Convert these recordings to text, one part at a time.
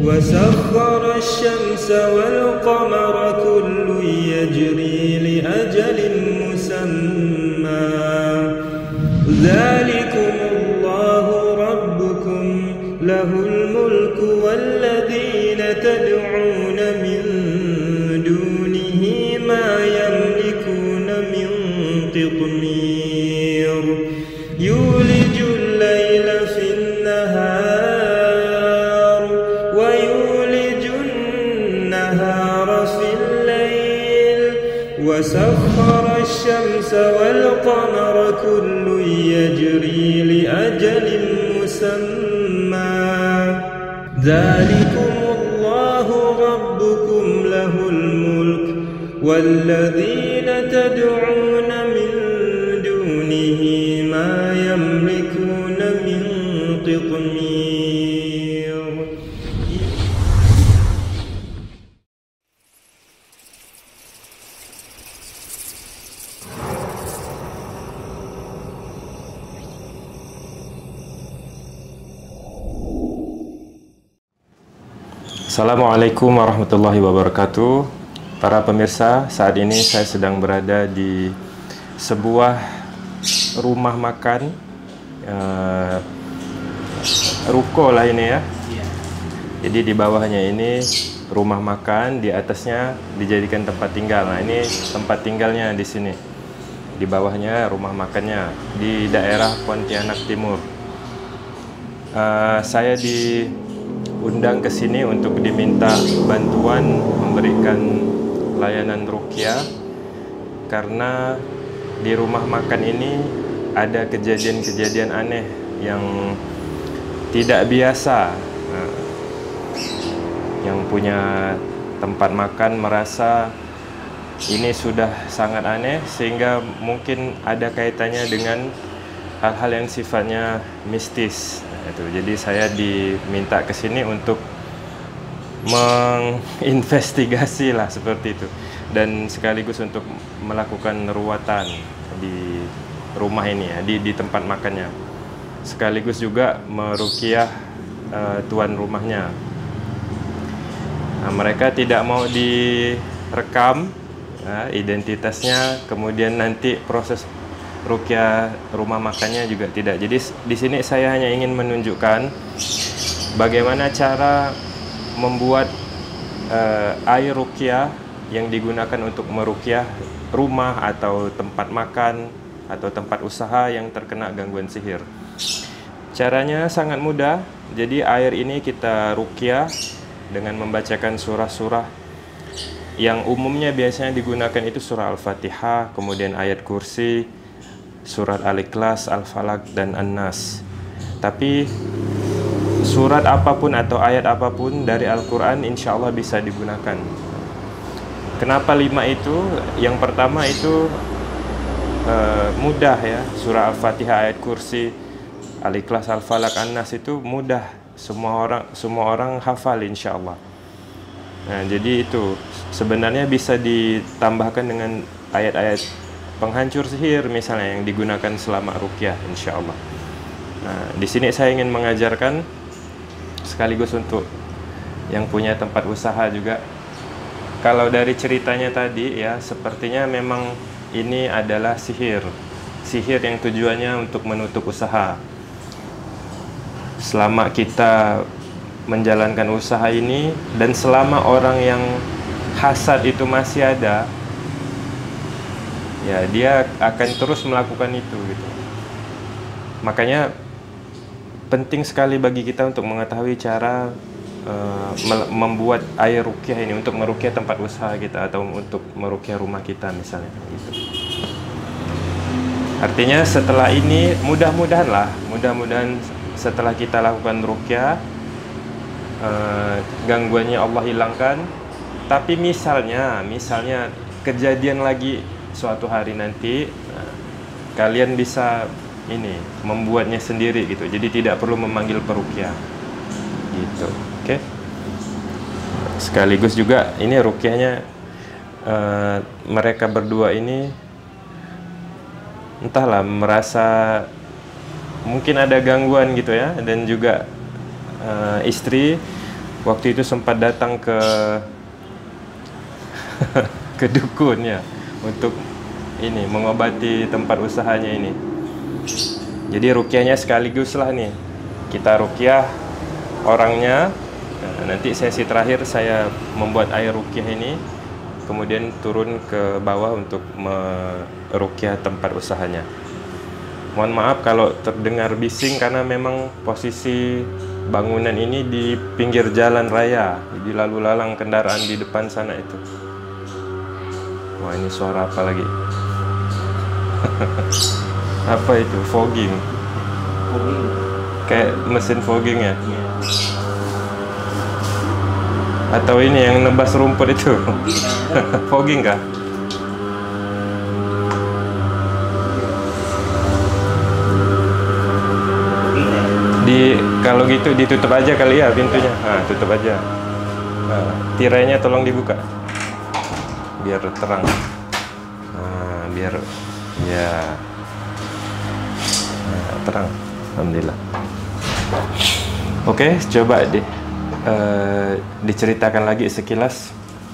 وسخر الشمس والقمر كل يجري لأجل مسمى ذلكم الله ربكم له الملك والذين تدعون من دونه ما يملكون من قطمير يولج الليل في النهار ويولج النهار في الليل وسخر الشمس والقمر كل يجري لأجل مسمى ذلكم الله ربكم له الملك والذين تدعون من دونه ما يملكون من قطمير. Assalamualaikum warahmatullahi wabarakatuh. Para pemirsa, saat ini saya sedang berada di sebuah rumah makan, ruko lah ini ya. Jadi di bawahnya ini rumah makan, di atasnya dijadikan tempat tinggal. Nah, ini tempat tinggalnya di sini. Di bawahnya rumah makannya di daerah Pontianak Timur. Saya diundang ke sini untuk diminta bantuan memberikan layanan ruqyah karena di rumah makan ini ada kejadian-kejadian aneh yang tidak biasa. Yang punya tempat makan merasa ini sudah sangat aneh sehingga mungkin ada kaitannya dengan hal-hal yang sifatnya mistis. Jadi saya diminta ke sini untuk menginvestigasi lah seperti itu, dan sekaligus untuk melakukan ruwatan di rumah ini ya, di tempat makannya, sekaligus juga meruqyah tuan rumahnya. Nah, mereka tidak mau direkam identitasnya, kemudian nanti proses ruqyah rumah makannya juga tidak. Jadi di sini saya hanya ingin menunjukkan bagaimana cara membuat air ruqyah yang digunakan untuk meruqyah rumah atau tempat makan atau tempat usaha yang terkena gangguan sihir. Caranya sangat mudah. Jadi air ini kita ruqyah dengan membacakan surah-surah yang umumnya biasanya digunakan itu surah Al-Fatihah, kemudian ayat kursi, surat Al-Ikhlas, Al-Falaq, dan An-Nas. Tapi surat apapun atau ayat apapun dari Al-Quran insya Allah bisa digunakan. Kenapa 5 itu? Yang pertama itu mudah ya. Surah Al-Fatihah, ayat kursi, Al-Ikhlas, Al-Falaq, An-Nas itu mudah. Semua orang hafal insya Allah. Nah, jadi itu sebenarnya bisa ditambahkan dengan ayat-ayat penghancur sihir misalnya yang digunakan selama ruqyah insya Allah. Nah, di sini saya ingin mengajarkan sekaligus untuk yang punya tempat usaha juga. Kalau dari ceritanya tadi ya, sepertinya memang ini adalah sihir yang tujuannya untuk menutup usaha. Selama kita menjalankan usaha ini dan selama orang yang hasad itu masih ada, ya dia akan terus melakukan itu gitu. Makanya penting sekali bagi kita untuk mengetahui cara membuat air ruqyah ini untuk meruqyah tempat usaha kita atau untuk meruqyah rumah kita misalnya gitu. Artinya setelah ini mudah-mudahan setelah kita lakukan ruqyah gangguannya Allah hilangkan. Tapi misalnya kejadian lagi suatu hari nanti, kalian bisa membuatnya sendiri gitu. Jadi tidak perlu memanggil peruqyah gitu. Oke. Sekaligus juga ini ruqyahnya mereka berdua ini entahlah merasa mungkin ada gangguan gitu ya, dan juga istri waktu itu sempat datang ke ke dukun ya untuk ini mengobati tempat usahanya ini. Jadi ruqyahnya sekaligus lah nih. Kita ruqyah orangnya. Nah, nanti sesi terakhir saya membuat air ruqyah ini, kemudian turun ke bawah untuk meruqyah tempat usahanya. Mohon maaf kalau terdengar bising karena memang posisi bangunan ini di pinggir jalan raya, jadi lalu lalang kendaraan di depan sana itu. Wah, ini suara apa lagi? Apa itu? Fogging. Kayak mesin fogging ya? Atau ini yang nebas rumput itu? Fogging kah? Kalau gitu ditutup aja kali ya pintunya. Nah, tutup aja. Nah, tirainya tolong dibuka biar terang. Nah, biar ya terang. Alhamdulillah. Oke, coba diceritakan lagi sekilas.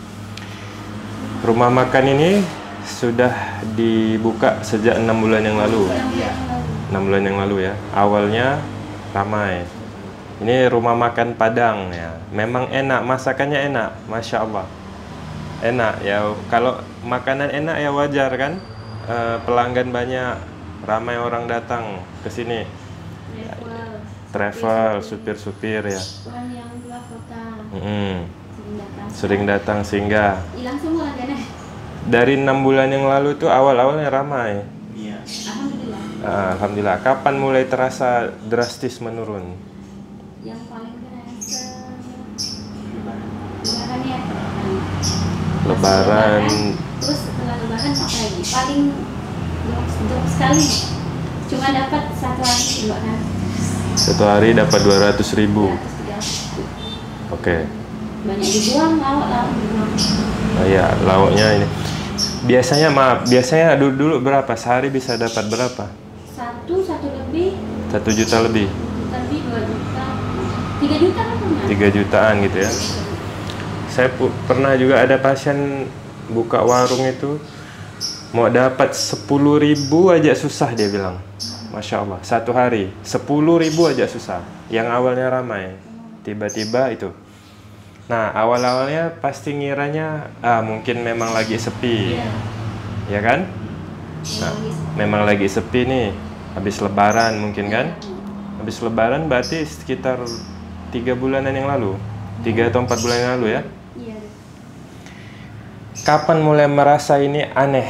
Rumah makan ini sudah dibuka sejak 6 bulan yang lalu. 6 bulan yang lalu ya. Awalnya ramai. Ini rumah makan Padang ya. Memang enak, masakannya enak, masya Allah. Enak ya. Kalau makanan enak ya wajar kan. Pelanggan banyak, ramai orang datang ke sini. Travel, supir-supir ya. Orang yang luar kota. Sering datang sehingga. Hilang semua kan? Dari 6 bulan yang lalu tuh awal-awalnya ramai. Iya. Alhamdulillah. Alhamdulillah. Kapan mulai terasa drastis menurun? Yang paling kerasa Lebaran ya. Lebaran. Terus setelah Lebaran apa lagi? Paling jauh sekali. Cuma dapat 1 hari 2 hari. 1 hari dapat 200.000. Oke. Banyak dibuang, lauk dibuang. Oh ya, lauknya ini. Biasanya dulu berapa? Sehari bisa dapat berapa? 1 lebih. 1 juta lebih. 1 lebih 2 juta. 3 juta kan pernah? 3 jutaan gitu ya. Saya pernah juga ada pasien buka warung itu mau dapat 10.000 aja susah dia bilang. Masya Allah, 1 hari 10.000 aja susah. Yang awalnya ramai, tiba-tiba itu. Nah, awal-awalnya pasti ngiranya mungkin memang lagi sepi, ya kan? Nah, memang lagi sepi nih, habis Lebaran mungkin kan? Habis Lebaran berarti sekitar 3 bulanan yang lalu, 3 atau 4 bulan yang lalu ya? Iya. Kapan mulai merasa ini aneh?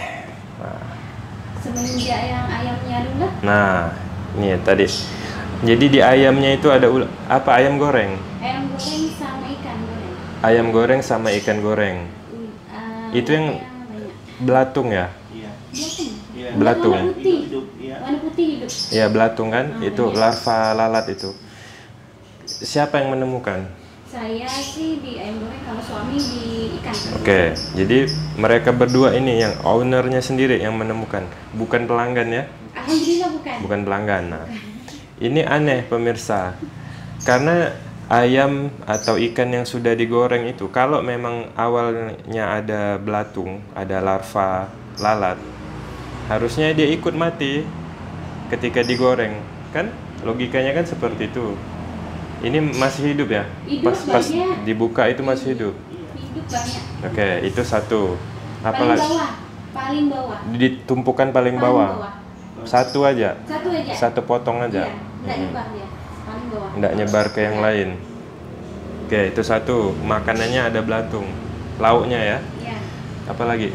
Semenjak yang ayamnya dulu. Nah, ini tadi. Jadi di ayamnya itu ada apa? Ayam goreng. Ayam goreng sama ikan goreng. Ayam goreng sama ikan goreng. Itu yang belatung ya? Iya. Iya. Belatung. Warna putih. Iya. Warna putih hidup. Ya, belatung kan? Itu larva lalat itu. Siapa yang menemukan? Saya sih di ayam goreng, kalau suami di ikan. Oke, jadi mereka berdua ini yang ownernya sendiri yang menemukan, bukan pelanggan ya? Alhamdulillah bukan. Bukan pelanggan. Nah, ini aneh pemirsa, karena ayam atau ikan yang sudah digoreng itu, kalau memang awalnya ada belatung, ada larva lalat, harusnya dia ikut mati ketika digoreng, kan? Logikanya kan seperti itu. Ini masih hidup ya? Hidup Pas banyak. dibuka itu masih hidup. Hidup banyak. Oke, itu satu. Paling bawah. Paling bawah. Ditumpukan paling bawah. Satu aja. Satu aja. Satu potong aja. Iya, nggak nyebar dia. Paling bawah. Nggak nyebar ke yang lain. Oke, itu satu. Makanannya ada belatung. Lauknya ya. Iya. Apa lagi?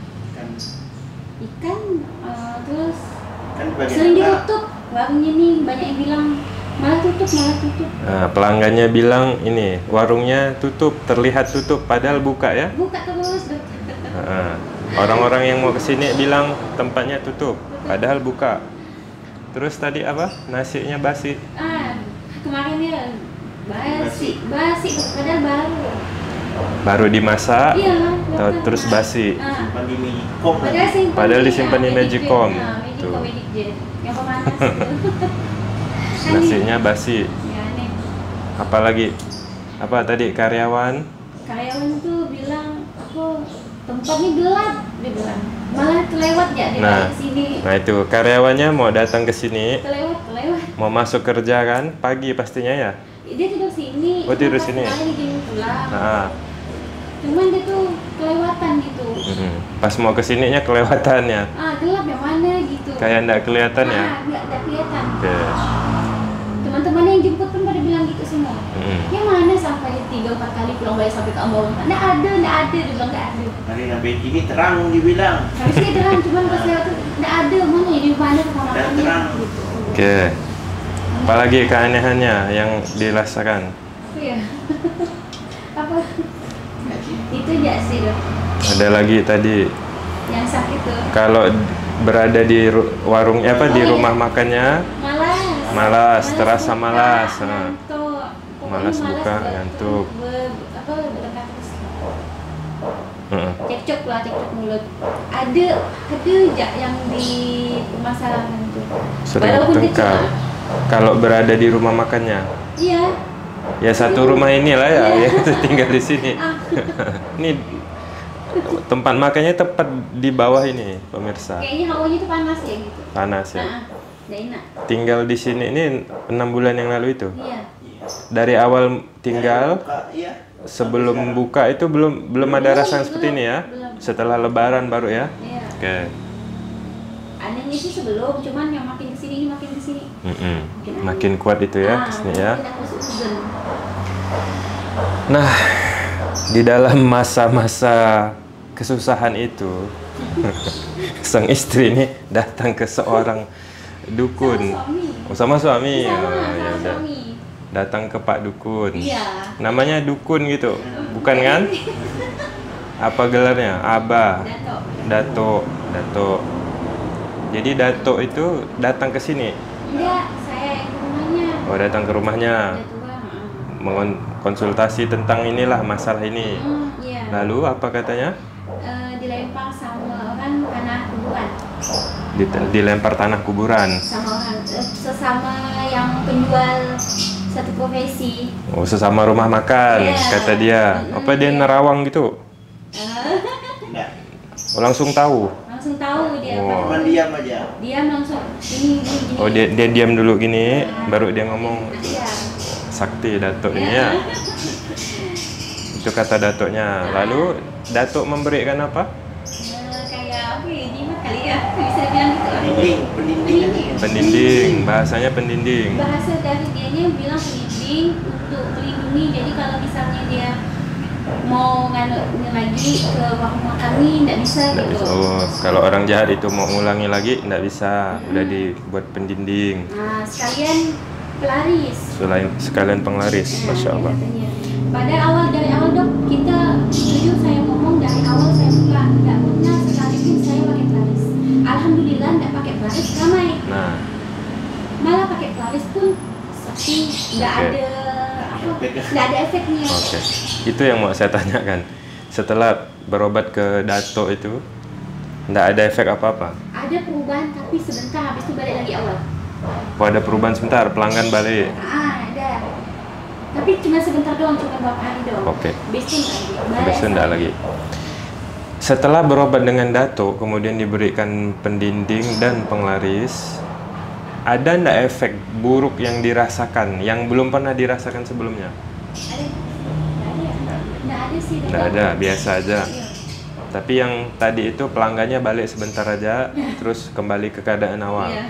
Ikan, terus Kan bagian sering atas. ditutup. Warungnya nih banyak yang bilang malah tutup. Nah, pelanggannya bilang ini warungnya tutup, terlihat tutup, padahal buka ya. Buka terus, dokter. Nah, orang-orang yang mau kesini bilang tempatnya tutup, padahal buka. Terus tadi apa? Nasinya basi. Kemarin ya basi, padahal baru. Baru dimasak, Iya, terus basi. Simpan di Magicom. Padahal disimpan di Magicom. Tuh. Tuh. Yang pemanas itu. Nasinya basi. Ya, aneh. Apalagi Apa tadi karyawan? Karyawan tuh bilang aku tempatnya gelap, dia bilang. Malah kelewat ya dia Nah, ke sini. nah itu karyawannya mau datang ke sini, Kelewat. mau masuk kerja kan, pagi pastinya ya. Dia tidur sini. Oh, tidur pas sini. kemarin dia pulang. Nah, Cuman dia tuh kelewatan gitu. pas mau ke sininya kelewatannya, Gelap yang mana gitu. kayak ndak kelihatan ya. Nggak kelihatan. Oke. Teman-teman yang jemput pun pada bilang gitu semua. Yang mana sampai 3-4 kali pulang balik sampai ke Ambon. Nggak ada, dia bilang nggak ada. Hari nabi ini terang dibilang. Harusnya terang, cuman pas lewat tuh nggak ada, mana ya di mana sama Dan terang. gitu. Oke. Apalagi keanehannya yang dirasakan? Iya. Apa? Itu aja sih dok. Ada lagi tadi Yang sakit tuh. kalau berada di warungnya apa di rumah makannya malas, terasa malas. Ngantuk. Pokoknya Malas buka, buat- ngantuk. berdekat terus. Cekcok mulut. Ada aja yang dipermasalahkan tuh. Sering Walaupun bertengkar. kecil. Kalau berada di rumah makannya, Iya. ya satu rumah inilah ya, Iya. ya tinggal di sini. Ini tempat makannya tepat di bawah ini, pemirsa. Kayaknya hawanya tuh panas ya gitu. Panas ya. Nggak enak. Tinggal di sini ini 6 bulan yang lalu itu. Iya. Dari awal tinggal Iya. sebelum buka itu belum ada rasa seperti ini ya. Belum. Setelah Lebaran baru ya. Iya. Oke. Anehnya sih sebelum, cuman yang makin kesini makin kesini. Makin kuat itu ya kesini ya. Makin aku seuzon. Nah, di dalam masa-masa kesusahan itu, sang istri ini datang ke seorang dukun. Sama suami. Oh, sama suami. Sama, Oh, ya sama udah. suami. Datang ke Pak Dukun. Iya. Namanya Dukun gitu, bukan kan? Apa gelarnya? Abah, Dato. Jadi Dato itu datang ke sini. Enggak, saya yang ke rumahnya. Oh, datang ke rumahnya. Udah tua. Konsultasi tentang inilah masalah ini. Iya. Lalu apa katanya? Dilempar sama orang tanah kuburan. Dilempar tanah kuburan. Sama orang sesama yang penjual satu profesi. Oh, sesama rumah makan, Iya. kata dia. Apa dia Iya. nerawang gitu? Enggak. Oh, langsung tahu. Langsung tahu dia Oh. Cuma diam aja. Dia langsung gini. Oh, dia diam dulu gini, baru dia ngomong. Iya. Sakti Datuk ini ya. Itu kata Datuknya. Lalu Datuk memberikan apa? Kayak apa ya, jimat kali ya, bisa bilang gitu. Pendinding. Pendinding, bahasanya pendinding. Bahasa dari dianya bilang pendinding untuk melindungi. Jadi kalau misalnya dia mau nganu lagi ke rumah kami, nggak bisa Nggak gitu. bisa. Oh, kalau orang jahat itu mau ngulangi lagi nggak bisa. Udah dibuat pendinding. Nah, sekalian pelaris. Selain sekalian penglaris, masya Allah. Katanya. Dari awal dok, kita jujur saya ngomong dari awal saya buka, nggak pernah sekalipun saya pakai pelaris. Alhamdulillah nggak pakai pelaris ramai. Nah, Malah pakai pelaris pun sepi, nggak Oke. ada nggak ada efeknya. oke. Itu yang mau saya tanyakan. Setelah berobat ke Dato itu, nggak ada efek apa-apa. Ada perubahan tapi sebentar, habis itu balik lagi awal. Oh, ada perubahan sebentar, pelanggan balik. Ada. Tapi cuma sebentar doang, cuma beberapa hari doang. Oke. Besok lagi. Besok nggak lagi. Setelah berobat dengan Dato, kemudian diberikan pendinding dan penglaris, ada ndak efek buruk yang dirasakan, yang belum pernah dirasakan sebelumnya? Ada? Nggak ada sih. Nggak ada, biasa aja. Iya. Tapi yang tadi itu pelanggannya balik sebentar aja, terus kembali ke keadaan awal. Iya.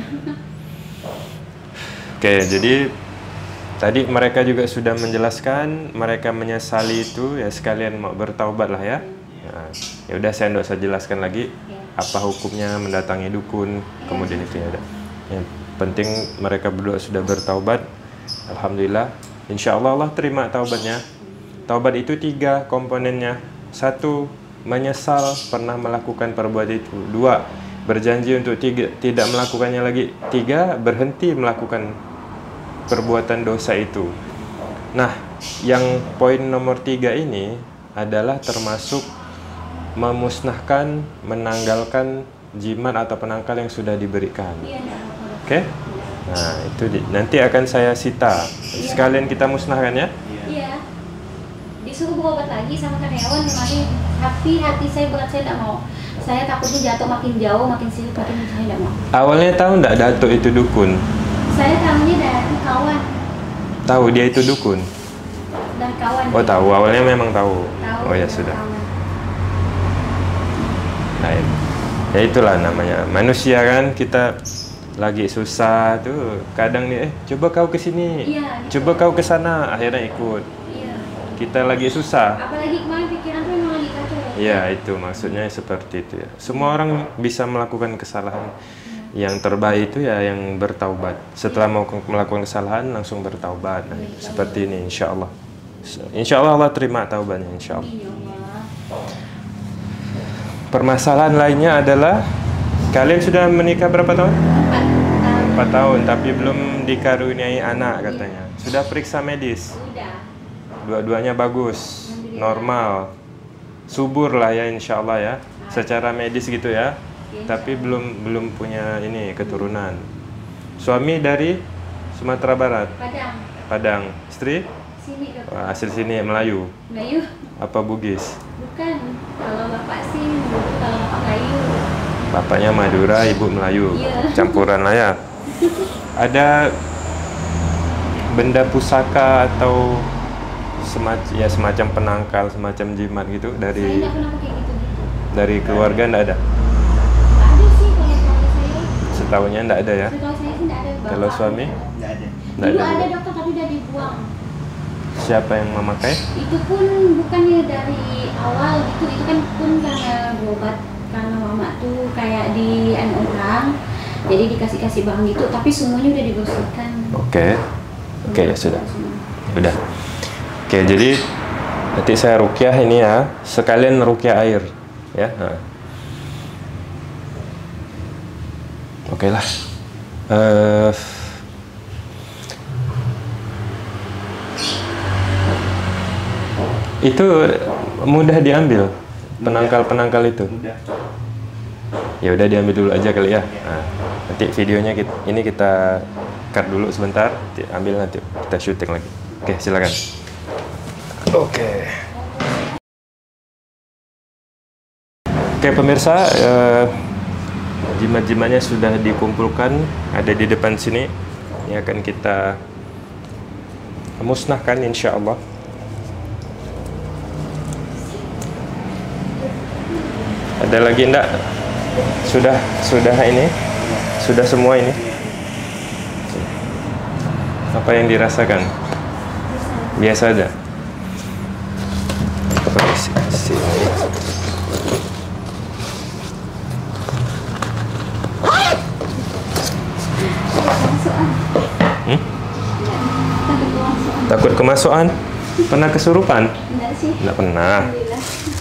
Oke, jadi tadi mereka juga sudah menjelaskan, mereka menyesali itu, ya sekalian mau bertaubat lah ya. Nah, ya udah saya nggak usah jelaskan lagi apa hukumnya mendatangi dukun, kemudian itu ya. Yang penting mereka berdua sudah bertaubat, alhamdulillah. Insya Allah Allah terima taubatnya. Taubat itu 3 komponennya. 1, menyesal pernah melakukan perbuatan itu. 2, berjanji untuk tidak melakukannya lagi. 3, berhenti melakukan perbuatan dosa itu. Nah, yang poin nomor 3 ini adalah termasuk memusnahkan, menanggalkan jimat atau penangkal yang sudah diberikan. Iya, nggak apa-apa. Oke? Nah, itu nanti akan saya sita. Sekalian kita musnahkan ya. Iya. disuruh berobat lagi sama karyawan kemarin, tapi hati saya berat, saya tidak mau. Saya takutnya jatuh makin jauh, makin sirik, makin saya tidak mau. Awalnya tahu nggak Datuk itu dukun? Saya tahunya dari kawan, Tahu dia itu dukun? dari kawan. Oh tahu, awalnya memang tahu. Tahu, Oh ya dari sudah. kawan. Nah, ya itulah namanya manusia kan, kita lagi susah tuh kadang nih coba kau ke sini, Iya, gitu. coba kau ke sana, akhirnya ikut. Iya. Kita lagi susah. Apalagi kemarin pikiran tuh memang lagi kacau. Ya itu maksudnya seperti itu ya. Semua orang bisa melakukan kesalahan. Yang terbaik itu ya yang bertaubat. Setelah mau melakukan kesalahan langsung bertaubat. Nah, seperti ini insya Allah. Insya Allah Allah terima taubatnya insya Allah. Iya, Allah. Permasalahan lainnya adalah kalian sudah menikah berapa tahun? 4 tahun tapi belum dikaruniai anak katanya. Sudah periksa medis? Udah. Dua-duanya bagus, normal, subur lah ya insya Allah ya. Secara medis gitu ya. Tapi belum punya ini keturunan. Suami dari Sumatera Barat, Padang. Padang. Istri? Sini Dok. Wah, asli sini Melayu. Melayu. Apa Bugis? Bukan. Kalau bapak sih, kalau bapak Melayu. Bapaknya Madura, ibu Melayu. Iya. Campuran lah ya. Ada benda pusaka atau semacam penangkal, semacam jimat gitu Saya dari nggak pernah pakai gitu-gitu. dari keluarga ndak ada? Nggak ada sih kalau keluarga saya. Setahunya ndak ada ya? Setahu saya sih nggak ada. Bapak Kalau suami? Nggak ada. Nggak Dulu ada ada juga. dokter tapi udah dibuang. Siapa yang memakai? Itu pun bukannya dari awal gitu, itu kan pun karena berobat, karena mama tuh kayak di orang, jadi dikasih barang gitu, tapi semuanya udah dibersihkan. Oke. Oke ya sudah. Udah. Oke, jadi nanti saya rukyah ini ya, sekalian rukyah air ya. Nah. Oke lah. Itu mudah diambil penangkal itu. Udah. Ya udah diambil dulu aja kali ya. Nah, nanti videonya kita cut dulu sebentar, ambil nanti kita syuting lagi. Oke, silakan. Oke. Oke pemirsa, jimat-jimatnya sudah dikumpulkan, ada di depan sini. Ini akan kita musnahkan insya Allah. Ada lagi enggak? Sudah ini? Sudah semua ini? Apa yang dirasakan? Biasa aja. Sini. Takut kemasukan? Pernah kesurupan? Enggak sih. Enggak pernah. Alhamdulillah.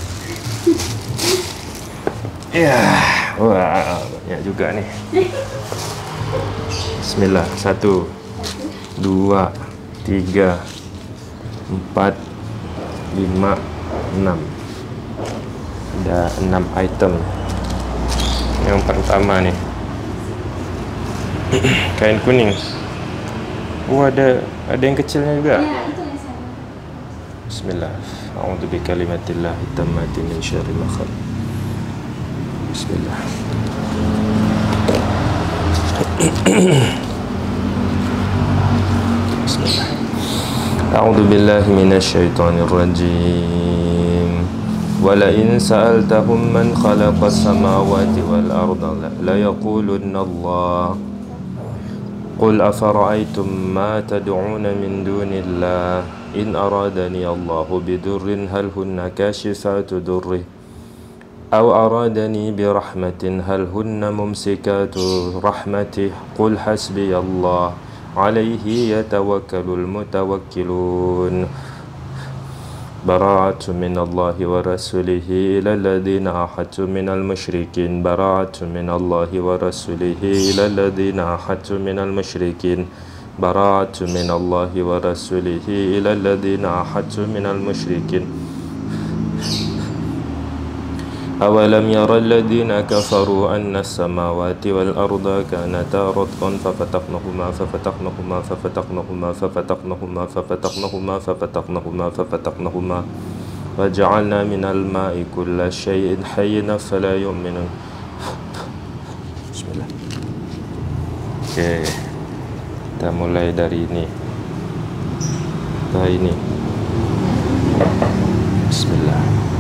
Ya, wah banyak juga nih. Bismillah, 1, 2, 3, 4, 5, 6. Ada 6 item. Yang pertama nih, kain kuning. Ada yang kecilnya juga. Ya, itu yang saya. Bismillah. A'udzu bikalimatillah tammati min syarri ma khalaq. Bismillah. Bismillah. A'udzu billahi minasyaitonir rajim. Wala in sa'altahum man khalaqas samawati wal arda la yaqulunna Allah. Qul afara'aytum ma tad'un min dunillah in aradani Allahu bidurrin hal hunna kashifatu durri aw aradani birahmatin hal hunna mumsikatu rahmatih qul hasbiyallah alayhi yatawakkalul mutawakkilun bara'atu minallahi wa rasulihi ila alladhina ahadtu minal musyrikin bara'atu minallahi wa rasulihi ila alladhina ahadtu minal musyrikin bara'atu minallahi wa rasulihi ila alladhina ahadtu minal musyrikin أولم ير الذين كفروا أن السماوات والأرض كانتا رتقا ففتقناهما ففتقناهما ففتقناهما ففتقناهما ففتقناهما ففتقناهما ففتقناهما وجعلنا من الماء كل شيء حي فلا يؤمنون. Bismillah. Oke, kita mulai dari ini. Ini. Bismillah.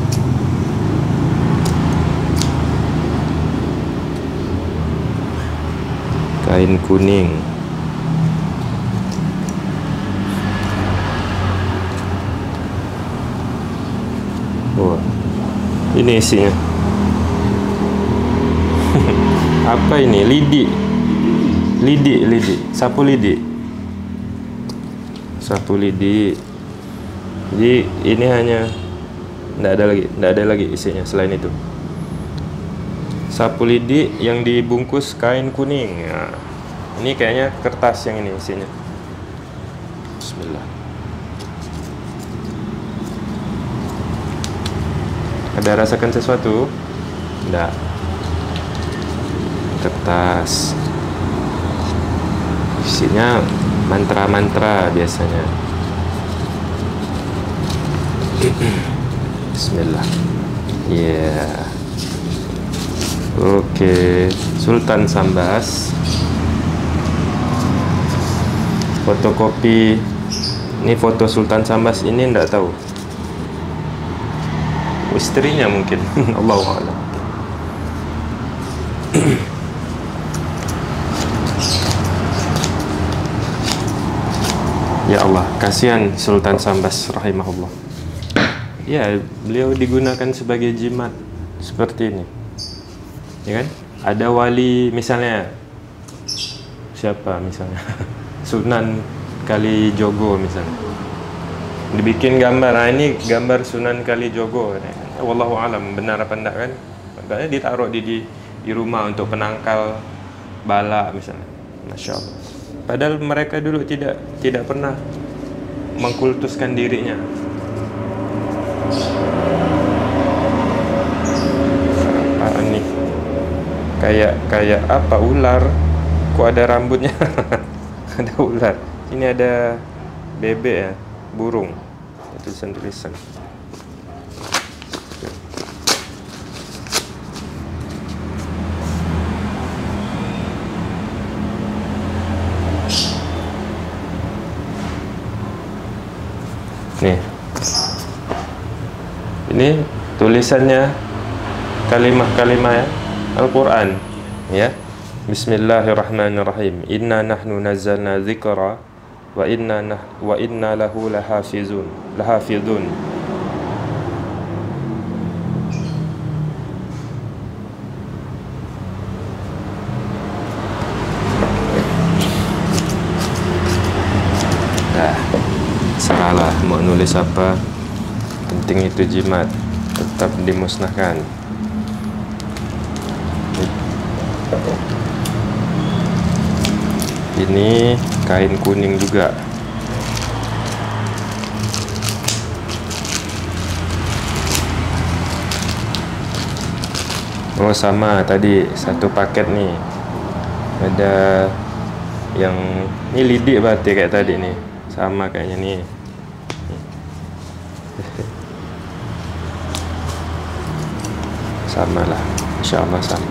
Kain kuning. Oh, ini isinya. Apa ini? Lidi. Sapu lidi. Jadi ini hanya tidak ada lagi isinya selain itu. Sapu lidi yang dibungkus kain kuning. Nah, ini kayaknya kertas yang ini isinya. Bismillah. Ada rasakan sesuatu? Tidak. Kertas. Isinya mantra-mantra biasanya. Bismillah. Yeah. Oke, Sultan Sambas. Fotokopi. Ini foto Sultan Sambas ini enggak tahu. Istrinya mungkin. Allahu a'lam. Ya Allah, kasihan Sultan Sambas rahimahullah. Ya, beliau digunakan sebagai jimat seperti ini. Ya kan? Ada wali misalnya, siapa misalnya? Sunan Kalijogo misalnya. Dibikin gambar. Nah, ini gambar Sunan Kalijogo. Wallahu alam benar apa enggak kan? Makanya ditaruh di rumah untuk penangkal bala misalnya. Masya Allah. Padahal mereka dulu tidak pernah mengkultuskan dirinya. Apaan nih? Kayak apa, ular? Kok ada rambutnya? Ada ular. Ini ada bebek ya, burung. Tulisan-tulisan. Nih. Ini tulisannya kalimah-kalimah ya, Al-Quran ya. Bismillahirrahmanirrahim. Inna nahnu nazzalna dzikra wa inna lahu lahafizun. Nah, salah mau nulis apa, penting itu jimat tetap dimusnahkan. Ini kain kuning juga. Oh sama tadi satu paket nih. Ada yang ini lidik berarti kayak tadi nih. Sama kayaknya nih. Sama lah, insyaallah sama.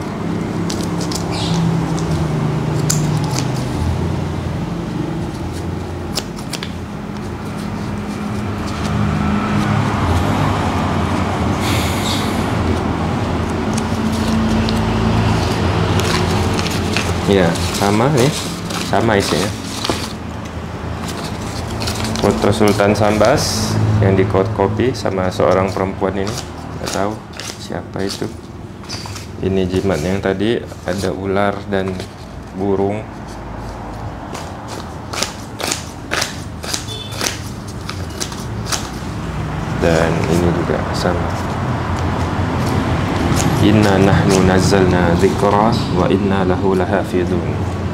Ya, sama nih, sama isinya. Foto Sultan Sambas yang di copy sama seorang perempuan ini, nggak tahu siapa itu. Ini jimat yang tadi ada ular dan burung. Dan ini juga sama. Inna nahnu nazzalna dzikra wa inna lahu lahafizun.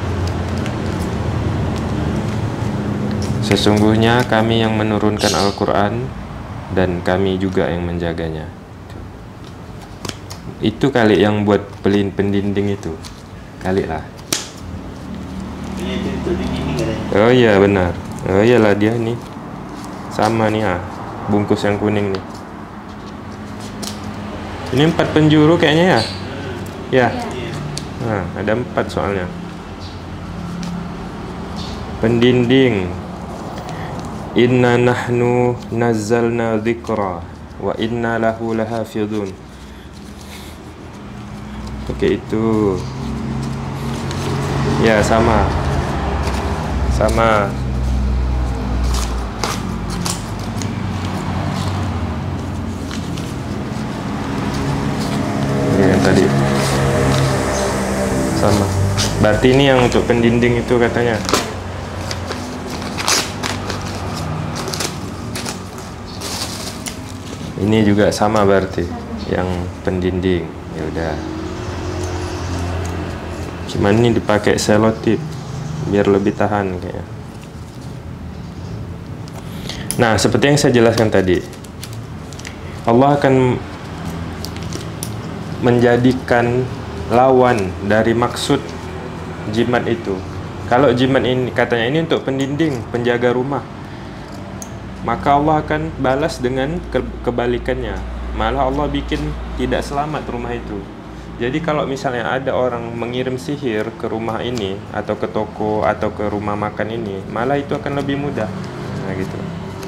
Sesungguhnya kami yang menurunkan Al-Quran dan kami juga yang menjaganya. Itu kali yang buat pendinding itu. Kali lah. Ini itu di sini katanya. Oh iya benar. Oh iyalah dia nih. Sama nih bungkus yang kuning nih. Ini 4 penjuru kayaknya ya? Ya. Iya. Nah, ada 4 soalnya. Pendinding. Inna nahnu nazzalna dzikra wa inna lahu lahafidun. Oke, itu. Ya, sama. Sama. Ini yang tadi. Sama. Berarti ini yang untuk pendinding itu katanya. Ini juga sama berarti yang pendinding. Ya udah. Cuman ini dipakai selotip biar lebih tahan kayaknya. Nah, seperti yang saya jelaskan tadi, Allah akan menjadikan lawan dari maksud jimat itu. Kalau jimat ini katanya ini untuk pendinding, penjaga rumah, maka Allah akan balas dengan kebalikannya. Malah Allah bikin tidak selamat rumah itu. Jadi kalau misalnya ada orang mengirim sihir ke rumah ini atau ke toko atau ke rumah makan ini, malah itu akan lebih mudah. Nah gitu.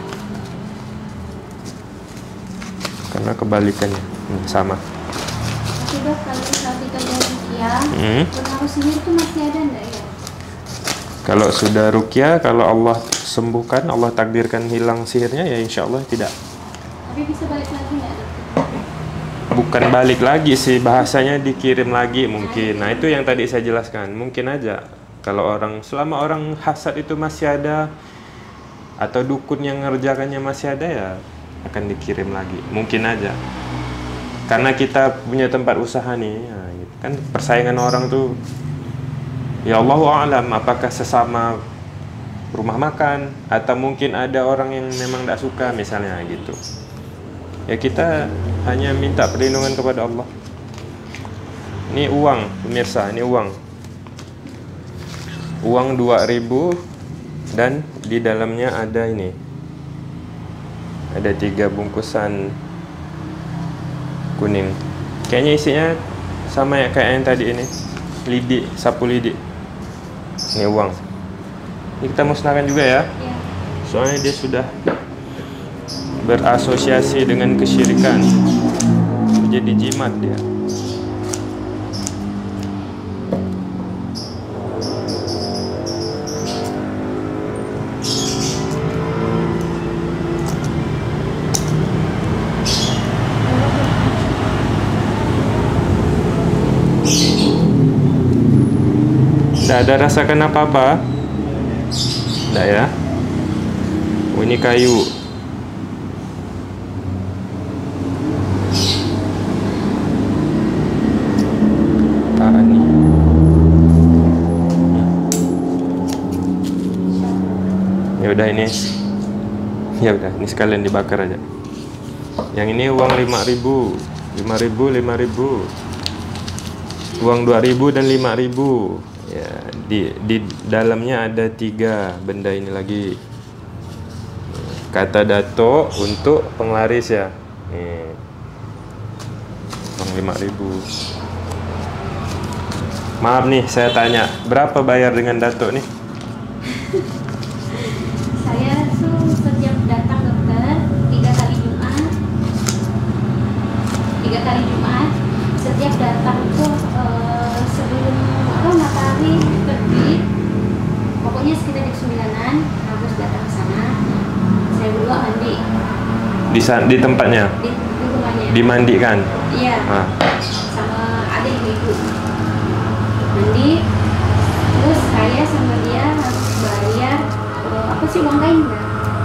Karena kebalikannya sama. Tapi Dok, kalau misal kita ruqyah, pengaruh sihir itu masih ada enggak ya? Kalau sudah ruqyah, kalau Allah sembuhkan, Allah takdirkan hilang sihirnya, ya insya Allah tidak. Tapi bisa balik lagi nggak Dok? Bukan balik lagi sih, bahasanya dikirim lagi mungkin. Nah itu yang tadi saya jelaskan, mungkin aja kalau orang, selama orang hasad itu masih ada atau dukun yang ngerjakannya masih ada, ya akan dikirim lagi, mungkin aja. Karena kita punya tempat usaha nih, ya, gitu. Kan persaingan orang tuh, ya Allahu a'lam, apakah sesama rumah makan atau mungkin ada orang yang memang tidak suka misalnya gitu. Ya kita hanya minta perlindungan kepada Allah. Ini uang, pemirsa, ini uang. Uang 2.000 dan di dalamnya ada ini. Ada 3 bungkusan kuning. Kayaknya isinya sama ya kayak yang tadi ini. Lidi, sapu lidi. Ini uang. Ini kita musnahkan juga ya. Iya. Soalnya dia sudah berasosiasi dengan kesyirikan, jadi jimat dia. Tidak ada rasakan apa-apa? Tidak ya? Oh, ini kayu. Ya udah ini. Ya udah, ini sekalian dibakar aja. Yang ini uang 5.000, 5.000, 5.000. Uang 2.000 dan 5.000. Ya, di dalamnya ada 3 benda ini lagi. Kata Dato untuk penglaris ya. Nih. Uang 5.000. Maaf nih, saya tanya, berapa bayar dengan Dato nih? Saya tuh setiap datang dokter 3 kali Jumat. 3 kali Jumat. Setiap datang tuh sebelum matahari terbit, pokoknya sekitar jam 9-an harus datang ke sana. Saya berdua mandi. Di tempatnya? Di rumahnya. Dimandikan? Iya. Sama adik ibu. Mandi. Terus saya sama dia harus bayar apa sih, uang kain nggak?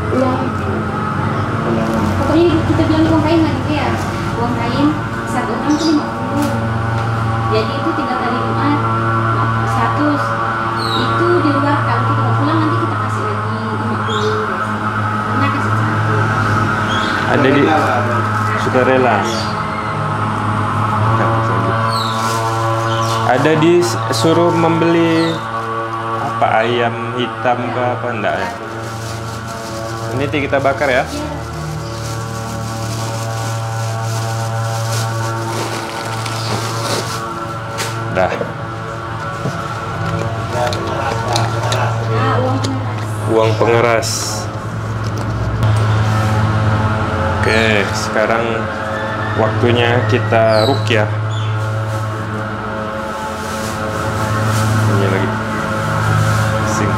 Pokoknya kita bilang uang kain nggak gitu ya? Uang kain 1 orang tuh 50. Jadi itu 3 kali Jumat 100. Itu di luar, kalau kita mau pulang nanti kita kasih lagi 50. Karena kasih 1. Ada di sukarela. Ada disuruh membeli apa, ayam hitam ke apa enggak ya? Ini kita bakar ya. Dah. Uang pengeras. Oke, sekarang waktunya kita ruqyah. Ini lagi. Sing.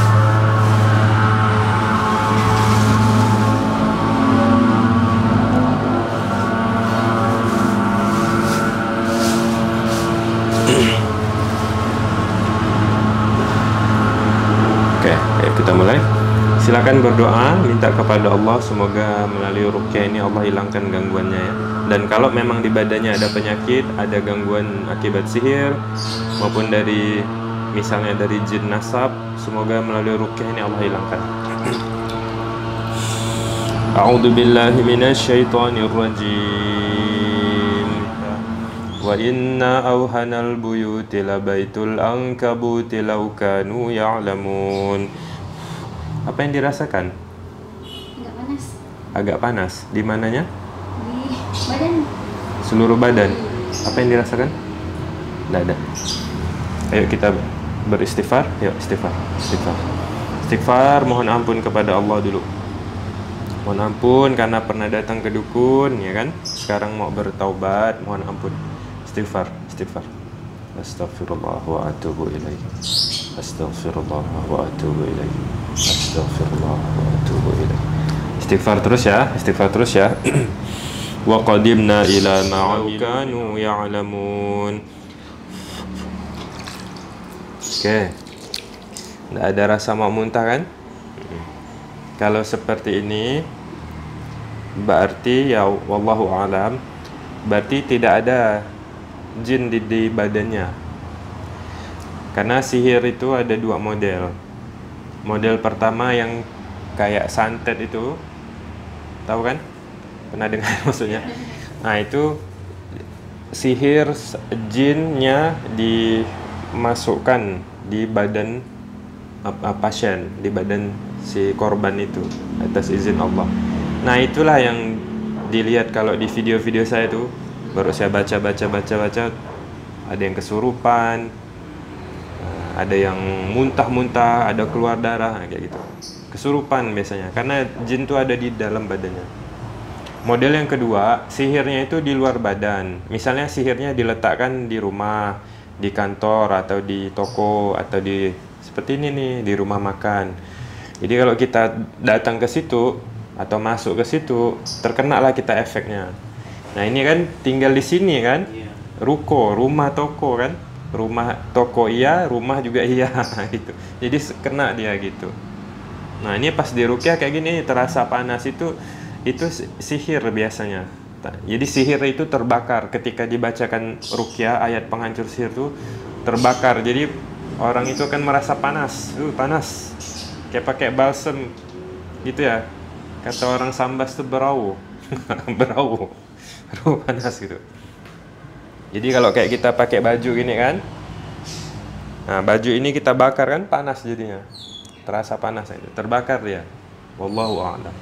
Oke, ayo kita mulai. Silakan berdoa, minta kepada Allah semoga melalui ruqyah ini Allah hilangkan gangguannya ya. Dan kalau memang di badannya ada penyakit, ada gangguan akibat sihir maupun dari misalnya dari jin nasab, semoga melalui ruqyah ini Allah hilangkan. A'udzu billahi minasyaitonir rajim. Wa inna awhanal buyuti labaitul ankabuti law kanu ya'lamun. Apa yang dirasakan? Agak panas. Agak panas. Di mananya? Di badan. Seluruh badan. Apa yang dirasakan? Tidak ada. Ayo kita beristighfar. Yuk, istighfar. Istighfar. Istighfar, mohon ampun kepada Allah dulu. Mohon ampun karena pernah datang ke dukun, ya kan? Sekarang mau bertaubat, mohon ampun. Istighfar, istighfar. Astaghfirullah wa atubu ilaih. Astaghfirullah wa atubu ilaih. Astaghfirullah wa atubu ilaih. Istighfar terus ya, istighfar terus ya. Wa qadimna ila ma kanu ya'lamun. Oke. Tidak ada rasa mau muntah kan? Kalau seperti ini berarti ya wallahu alam, berarti tidak ada jin di badannya. Karena sihir itu ada dua model. Model pertama yang kayak santet itu, tahu kan? Pernah dengar maksudnya? Nah itu sihir jinnya dimasukkan di badan pasien, di badan si korban itu atas izin Allah. Nah itulah yang dilihat kalau di video-video saya tuh. Baru saya baca, ada yang kesurupan, ada yang muntah-muntah, ada keluar darah, kayak gitu. Kesurupan biasanya, karena jin itu ada di dalam badannya. Model yang kedua, sihirnya itu di luar badan. Misalnya sihirnya diletakkan di rumah, di kantor, atau di toko, atau di seperti ini nih, di rumah makan. Jadi kalau kita datang ke situ, atau masuk ke situ, terkenalah kita efeknya. Nah ini kan tinggal di sini kan, ruko, rumah toko kan, rumah toko iya, rumah juga iya gitu. Jadi kena dia gitu. Nah ini pas di ruqyah kayak gini terasa panas itu sihir biasanya. Jadi sihir itu terbakar ketika dibacakan ruqyah, ayat penghancur sihir itu terbakar. Jadi orang itu akan merasa panas, panas, kayak pakai balsem gitu ya. Kata orang Sambas itu berau, berau. Panas gitu. Jadi kalau kayak kita pakai baju gini kan, nah baju ini kita bakar kan panas jadinya, terasa panas, terbakar dia. Wallahu a'lam.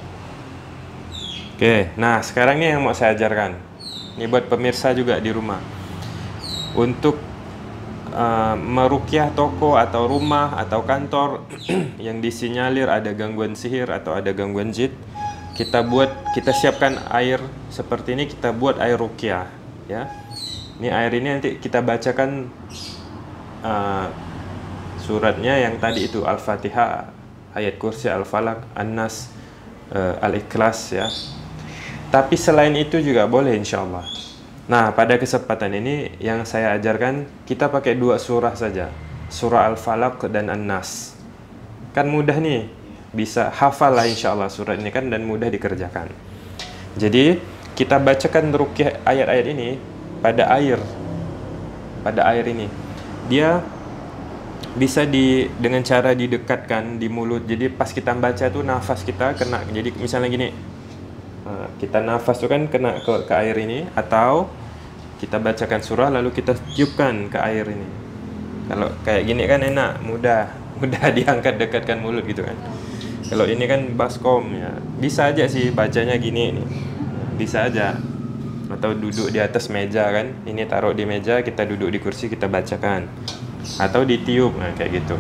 Oke, nah sekarang ini yang mau saya ajarkan. Ini buat pemirsa juga di rumah. Untuk meruqyah toko atau rumah atau kantor yang disinyalir ada gangguan sihir atau ada gangguan jin, kita siapkan air seperti ini, kita buat air ruqyah ya. Ini air ini nanti kita bacakan suratnya yang tadi itu Al-Fatihah, ayat kursi, Al-Falaq, An-Nas, Al-Ikhlas ya. Tapi selain itu juga boleh insyaallah. Nah pada kesempatan ini yang saya ajarkan kita pakai dua surah saja, surah Al-Falaq dan An-Nas. Kan mudah nih, bisa hafal lah insyaallah surat ini kan, dan mudah dikerjakan. Jadi kita bacakan ruqyah ayat-ayat ini pada air ini. Dia bisa dengan cara didekatkan di mulut. Jadi pas kita baca tuh nafas kita kena. Jadi misalnya gini, kita nafas tuh kan kena ke air ini, atau Kita bacakan surah lalu kita tiupkan ke air ini. Kalau kayak gini kan enak, mudah diangkat, dekatkan mulut gitu kan. Kalau ini kan baskom ya, bisa aja sih bacanya gini nih, bisa aja. Atau duduk di atas meja kan, ini taruh di meja, kita duduk di kursi, kita bacakan. Atau ditiup, nah kayak gitu.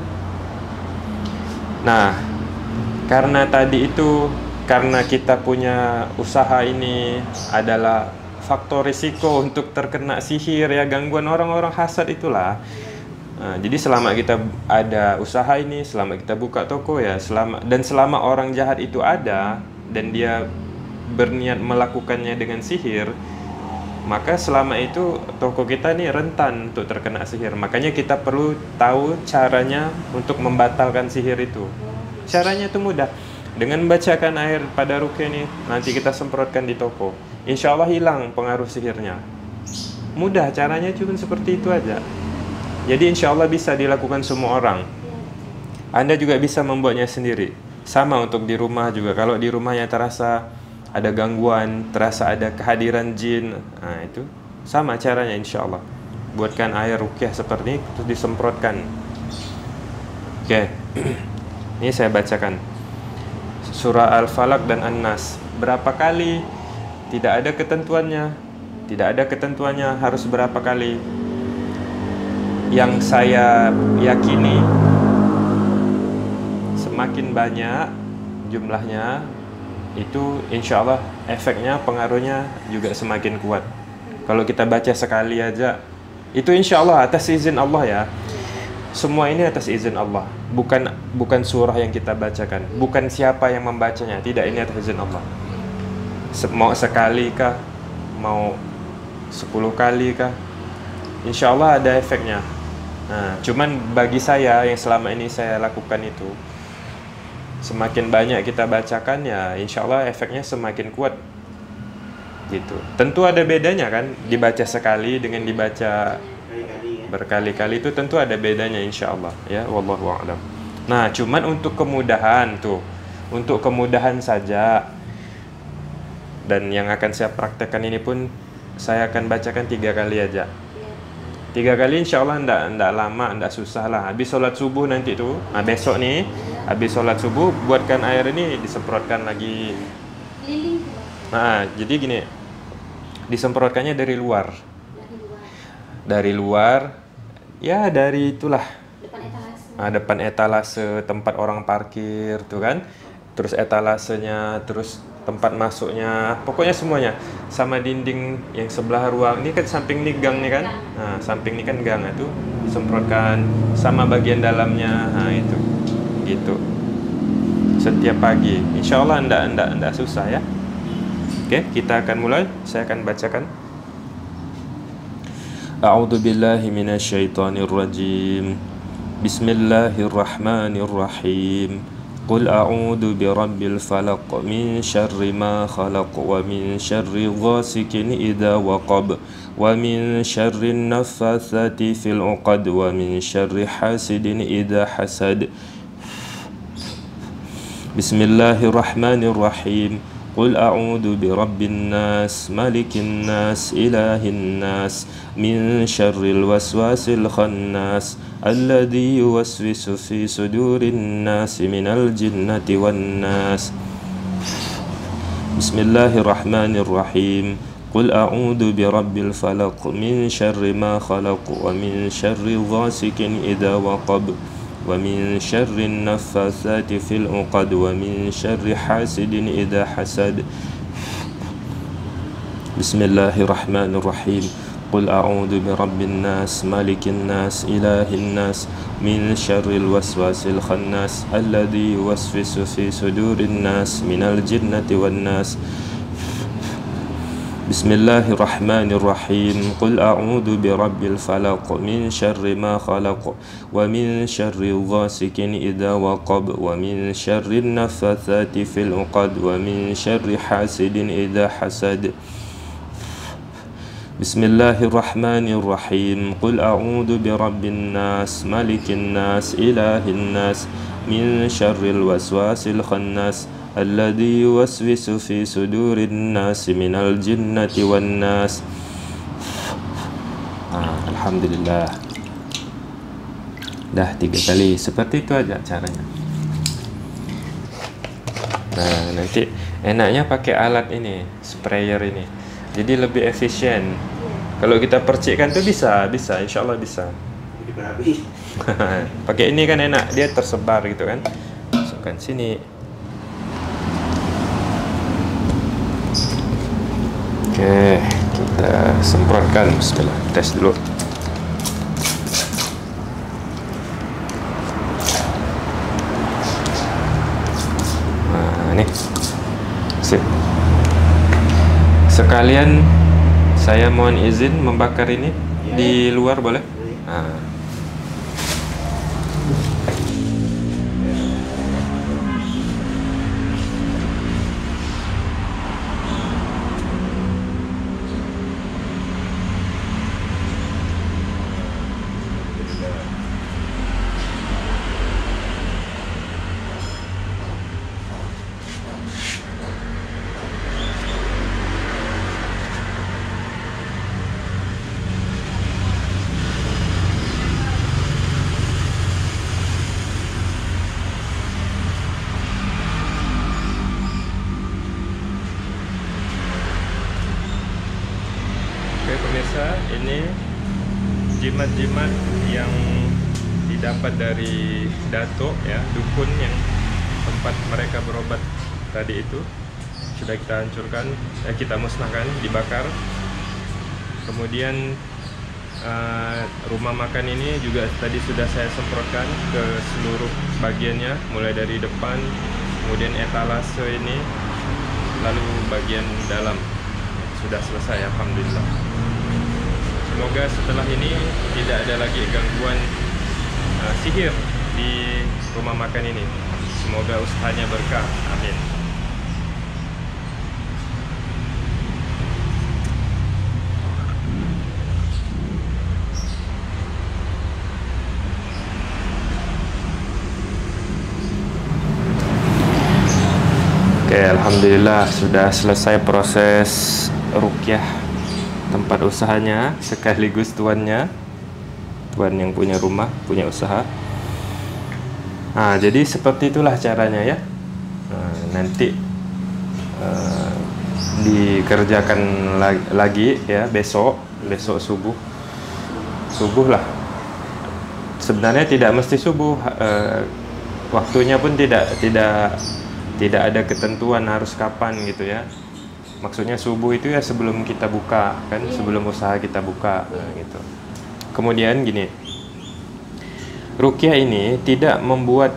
Nah, karena tadi itu, karena kita punya usaha ini adalah faktor risiko untuk terkena sihir ya, gangguan orang-orang hasad itulah. Nah, jadi selama kita ada usaha ini, selama kita buka toko ya, selama orang jahat itu ada dan dia berniat melakukannya dengan sihir, maka selama itu toko kita nih rentan untuk terkena sihir. Makanya kita perlu tahu caranya untuk membatalkan sihir itu. Caranya itu mudah. Dengan membacakan air pada ruqyah nih, nanti kita semprotkan di toko. Insya Allah hilang pengaruh sihirnya. Mudah, caranya cuma seperti itu aja. Jadi insya Allah bisa dilakukan semua orang. Anda juga bisa membuatnya sendiri. Sama untuk di rumah juga. Kalau di rumahnya terasa ada gangguan, terasa ada kehadiran jin, nah itu sama caranya insya Allah. Buatkan air ruqyah seperti ini, terus disemprotkan. Oke. Ini saya bacakan surah Al-Falaq dan An-Nas. Berapa kali? Tidak ada ketentuannya. Tidak ada ketentuannya harus berapa kali. Yang saya yakini, semakin banyak jumlahnya, itu insya Allah efeknya, pengaruhnya juga semakin kuat. Kalau kita baca sekali aja, itu insya Allah atas izin Allah ya. Semua ini atas izin Allah, bukan surah yang kita bacakan, bukan siapa yang membacanya, tidak, ini atas izin Allah. Mau sekali kah, mau 10 kali kah, insya Allah ada efeknya. Nah, cuman bagi saya yang selama ini saya lakukan itu, semakin banyak kita bacakan ya, insya Allah efeknya semakin kuat. Gitu. Tentu ada bedanya kan, dibaca sekali dengan dibaca berkali-kali itu tentu ada bedanya insya Allah ya, wallahu a'lam. Nah, cuman untuk kemudahan tuh, untuk kemudahan saja, dan yang akan saya praktekkan ini pun saya akan bacakan 3 kali aja. 3 kali insya Allah enggak lama, enggak susah lah. Habis sholat subuh nanti tuh, nah besok nih, habis sholat subuh buatkan air ini, disemprotkan lagi. Nah, jadi gini, disemprotkannya dari luar. Dari luar, ya dari itulah depan etalase tempat orang parkir tuh kan, terus etalasenya, terus tempat masuknya, pokoknya semuanya, sama dinding yang sebelah ruang ini kan, samping nih gang nih kan, nah samping ini kan gang itu disemprotkan, sama bagian dalamnya, nah itu gitu setiap pagi, insya Allah enggak susah ya. Oke, kita akan mulai, saya akan bacakan. A'udzu billahi minasyaitonir rajim. Bismillahirrahmanirrahim. Qul a'udzu birabbil falaq min syarri ma khalaq wa min syarri ghasikin idza waqab wa min syarri naffatsati fil 'uqad wa min syarri hasidin idza hasad. Bismillahirrahmanirrahim. Qul a'udzu birabbin nas, malikin nas, ilahin nas, min syarril waswasil khannas, alladzi yuwaswisu fi sudurin nas minal jinnati wan nas. Bismillahirrahmanirrahim. Qul a'udzu birabbil falaq min syarri ma khalaq wa min syarri ghasikin idza waqab wa min syarri naffatsati fil 'uqad wa min syarri hasidin idza hasad. Bismillahirrahmanirrahim. Qul a'udzu birabbin nas, malikin nas, ilahin nas, min syarril waswasil khannas, alladzi yuwaswisu fi sudurin nas minal jinnati wan nas. Bismillahirrahmanirrahim. Qul a'udzu birabbil falaq min syarri ma khalaq wa min syarri ghasikin idza waqab wa min syarri naffatsati fil 'uqad wa min syarri hasidin idza hasad. Bismillahirrahmanirrahim. Qul a'udzu birabbin nas, malikin nas, ilahin nas, min syarril waswasil khannas, alladzi yuwaswisu fi sudurin nas minal jinnati wan nas. Alhamdulillah. Dah 3 kali. Seperti itu aja caranya. Nah, nanti enaknya pakai alat ini, sprayer ini. Jadi lebih efisien. Kalau kita percikkan tuh bisa, insya Allah bisa. Jadi berapi. Pakai ini kan enak, dia tersebar gitu kan. Masukkan sini. Oke, kita semprotkan. Bismillah, tes dulu. Nah, ini. Sip. Sekalian saya mohon izin membakar ini di luar boleh? Nah. Oke pemirsa, ini jimat-jimat yang didapat dari datuk ya, dukun yang tempat mereka berobat tadi itu sudah kita hancurkan, kita musnahkan, dibakar. Kemudian rumah makan ini juga tadi sudah saya semprotkan ke seluruh bagiannya, mulai dari depan, kemudian etalase ini, lalu bagian dalam. Sudah selesai, alhamdulillah. Semoga setelah ini tidak ada lagi gangguan sihir di rumah makan ini. Semoga usahanya berkah, amin. Oke, alhamdulillah sudah selesai proses ruqyah tempat usahanya, sekaligus tuan yang punya rumah, punya usaha. Nah, jadi seperti itulah caranya ya. Nanti dikerjakan lagi ya besok subuh lah. Sebenarnya tidak mesti subuh, waktunya pun tidak ada ketentuan harus kapan gitu ya. Maksudnya subuh itu ya sebelum kita buka kan, sebelum usaha kita buka gitu. Kemudian gini, ruqyah ini tidak membuat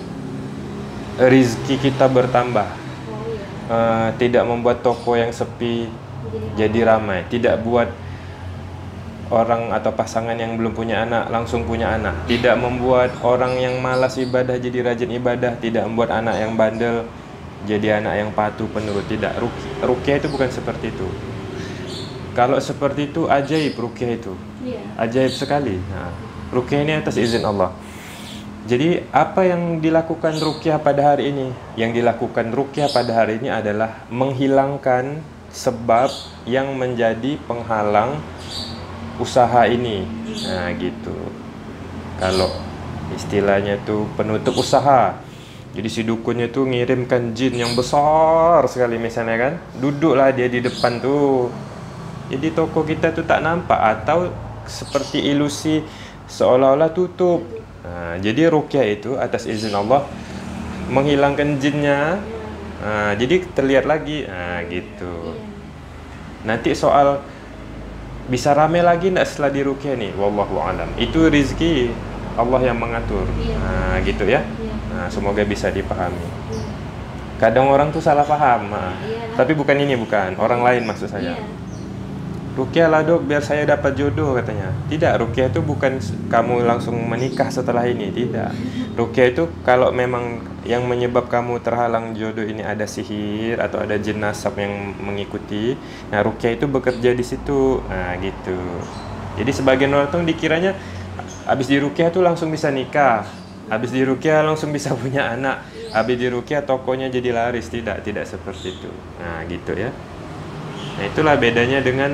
rizki kita bertambah, tidak membuat toko yang sepi jadi ramai, tidak buat orang atau pasangan yang belum punya anak langsung punya anak, tidak membuat orang yang malas ibadah jadi rajin ibadah, tidak membuat anak yang bandel jadi anak yang patuh penurut. Tidak, ruqyah itu bukan seperti itu. Kalau seperti itu ajaib ruqyah itu, ajaib sekali. Nah, ruqyah ini atas izin Allah. Jadi apa yang dilakukan ruqyah pada hari ini? Yang dilakukan ruqyah pada hari ini adalah menghilangkan sebab yang menjadi penghalang usaha ini. Nah gitu. Kalau istilahnya itu penutup usaha. Jadi si dukunnya tuh ngirimkan jin yang besar sekali misalnya kan, duduklah dia di depan tuh. Jadi toko kita tuh tak nampak, atau seperti ilusi seolah-olah tutup. Nah, jadi ruqyah itu atas izin Allah menghilangkan jinnya. Nah, jadi terlihat lagi. Nah gitu. Nanti soal bisa rame lagi enggak setelah di ruqyah nih, wallahu alam. Itu rezeki Allah yang mengatur. Nah gitu ya. Nah, semoga bisa dipahami. Kadang orang tuh salah paham. Tapi bukan ini, bukan. Orang lain maksud saya. Ruqyah lah dok, biar saya dapat jodoh katanya. Tidak, ruqyah itu bukan kamu langsung menikah setelah ini. Tidak. Ruqyah itu kalau memang yang menyebab kamu terhalang jodoh ini ada sihir atau ada jin nasab yang mengikuti. Nah, ruqyah itu bekerja di situ. Nah, gitu. Jadi sebagian orang tuh dikiranya habis di ruqyah tuh langsung bisa nikah. Habis di ruqyah langsung bisa punya anak. Habis di ruqyah tokonya jadi laris. Tidak seperti itu. Nah gitu ya. Nah itulah bedanya dengan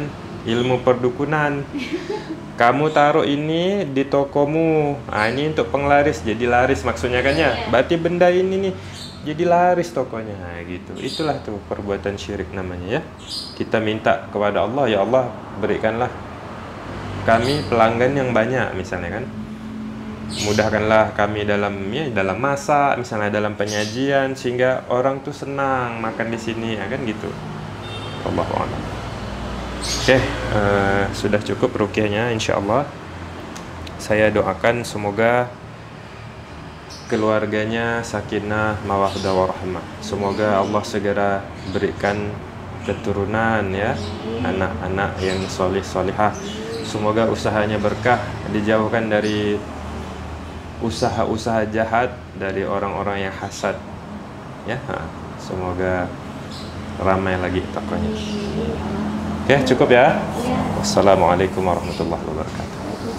ilmu perdukunan. Kamu taruh ini di tokomu, ini untuk penglaris, jadi laris maksudnya kan ya. Berarti benda ini nih jadi laris tokonya, gitu. Itulah tuh perbuatan syirik namanya ya. Kita minta kepada Allah, ya Allah berikanlah kami pelanggan yang banyak misalnya kan. Mudahkanlah kami dalam masak, misalnya dalam penyajian, sehingga orang tuh senang makan di sini, ya kan gitu. Allahu a'lam. Oke, sudah cukup ruqyahnya insyaallah. Saya doakan semoga keluarganya sakinah, mawaddah warahmah. Semoga Allah segera berikan keturunan ya, anak-anak yang solih-solihah. Semoga usahanya berkah, dijauhkan dari usaha-usaha jahat, dari orang-orang yang hasad. Ya, semoga ramai lagi tokonya. Oke, cukup ya. Wassalamualaikum warahmatullahi wabarakatuh.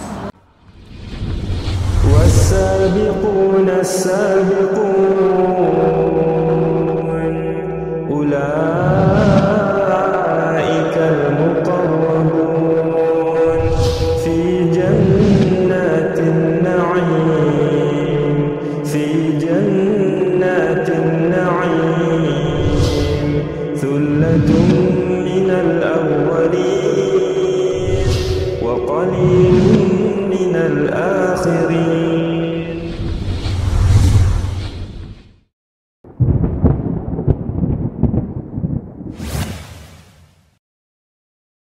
والسابقون السابقون أولئك المقربون في جنات النعيم في جنات النعيم ثلة من الأولين وقليل من الآخرين